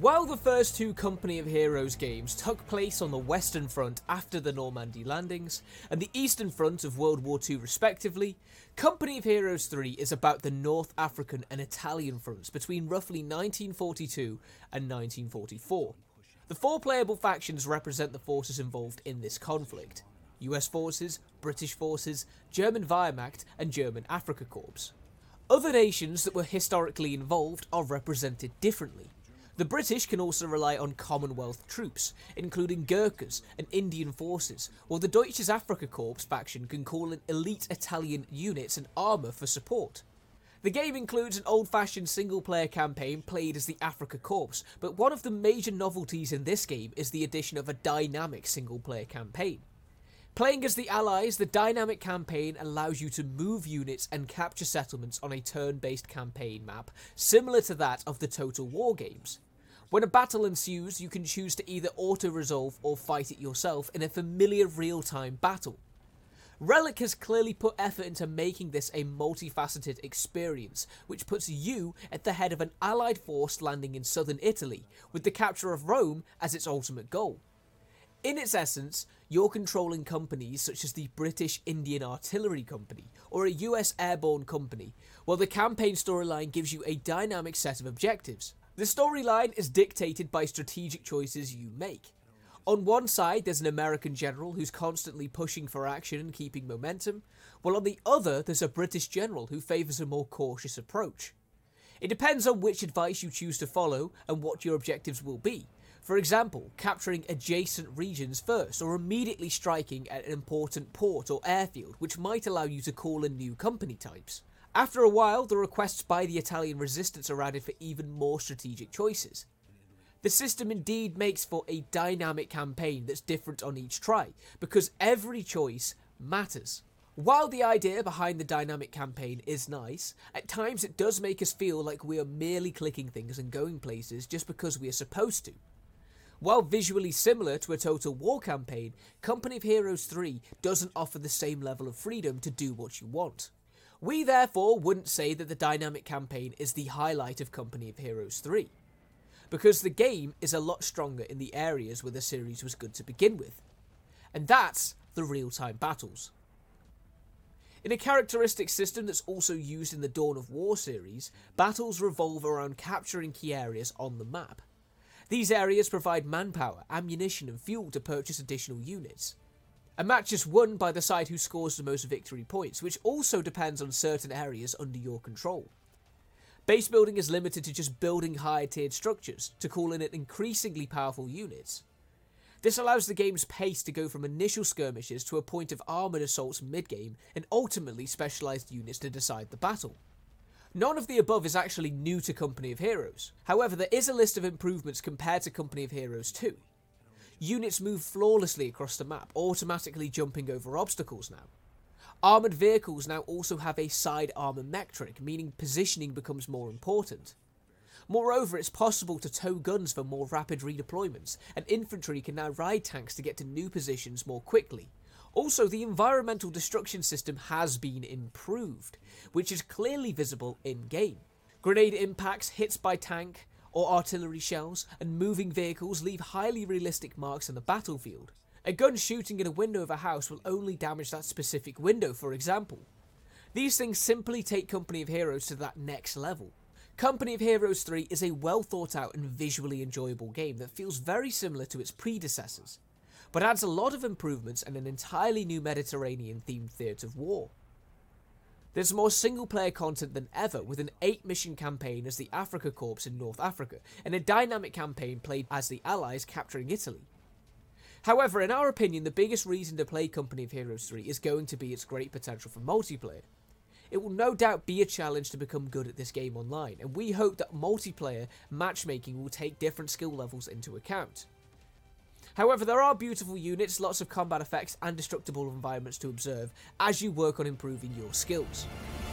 While the first two Company of Heroes games took place on the Western Front after the Normandy landings, and the Eastern Front of World War II respectively, Company of Heroes 3 is about the North African and Italian fronts between roughly 1942 and 1944. The four playable factions represent the forces involved in this conflict: US forces, British forces, German Wehrmacht and German Afrika Korps. Other nations that were historically involved are represented differently. The British can also rely on Commonwealth troops, including Gurkhas and Indian forces, while the Deutsches Afrika Korps faction can call in elite Italian units and armour for support. The game includes an old-fashioned single-player campaign played as the Afrika Korps, but one of the major novelties in this game is the addition of a dynamic single-player campaign. Playing as the Allies, the dynamic campaign allows you to move units and capture settlements on a turn-based campaign map, similar to that of the Total War games. When a battle ensues, you can choose to either auto-resolve or fight it yourself in a familiar real-time battle. Relic has clearly put effort into making this a multifaceted experience, which puts you at the head of an Allied force landing in southern Italy, with the capture of Rome as its ultimate goal. In its essence, you're controlling companies such as the British Indian Artillery Company or a US Airborne Company, while the campaign storyline gives you a dynamic set of objectives. The storyline is dictated by strategic choices you make. On one side, there's an American general who's constantly pushing for action and keeping momentum, while on the other, there's a British general who favours a more cautious approach. It depends on which advice you choose to follow and what your objectives will be. For example, capturing adjacent regions first, or immediately striking at an important port or airfield, which might allow you to call in new company types. After a while, the requests by the Italian resistance are added for even more strategic choices. The system indeed makes for a dynamic campaign that's different on each try, because every choice matters. While the idea behind the dynamic campaign is nice, at times it does make us feel like we are merely clicking things and going places just because we are supposed to. While visually similar to a Total War campaign, Company of Heroes 3 doesn't offer the same level of freedom to do what you want. We therefore wouldn't say that the dynamic campaign is the highlight of Company of Heroes 3, because the game is a lot stronger in the areas where the series was good to begin with, and that's the real-time battles. In a characteristic system that's also used in the Dawn of War series, battles revolve around capturing key areas on the map. These areas provide manpower, ammunition and fuel to purchase additional units. A match is won by the side who scores the most victory points, which also depends on certain areas under your control. Base building is limited to just building higher tiered structures to call in increasingly powerful units. This allows the game's pace to go from initial skirmishes to a point of armoured assaults mid-game and ultimately specialised units to decide the battle. None of the above is actually new to Company of Heroes. However, there is a list of improvements compared to Company of Heroes 2. Units move flawlessly across the map, automatically jumping over obstacles now. Armoured vehicles now also have a side armour metric, meaning positioning becomes more important. Moreover, it's possible to tow guns for more rapid redeployments, and infantry can now ride tanks to get to new positions more quickly. Also, the environmental destruction system has been improved, which is clearly visible in-game. Grenade impacts, hits by tank or artillery shells, and moving vehicles leave highly realistic marks on the battlefield. A gun shooting in a window of a house will only damage that specific window, for example. These things simply take Company of Heroes to that next level. Company of Heroes 3 is a well thought out and visually enjoyable game that feels very similar to its predecessors, but adds a lot of improvements and an entirely new Mediterranean-themed theatre of war. There's more single-player content than ever, with an 8-mission campaign as the Afrika Korps in North Africa, and a dynamic campaign played as the Allies capturing Italy. However, in our opinion, the biggest reason to play Company of Heroes 3 is going to be its great potential for multiplayer. It will no doubt be a challenge to become good at this game online, and we hope that multiplayer matchmaking will take different skill levels into account. However, there are beautiful units, lots of combat effects and destructible environments to observe as you work on improving your skills.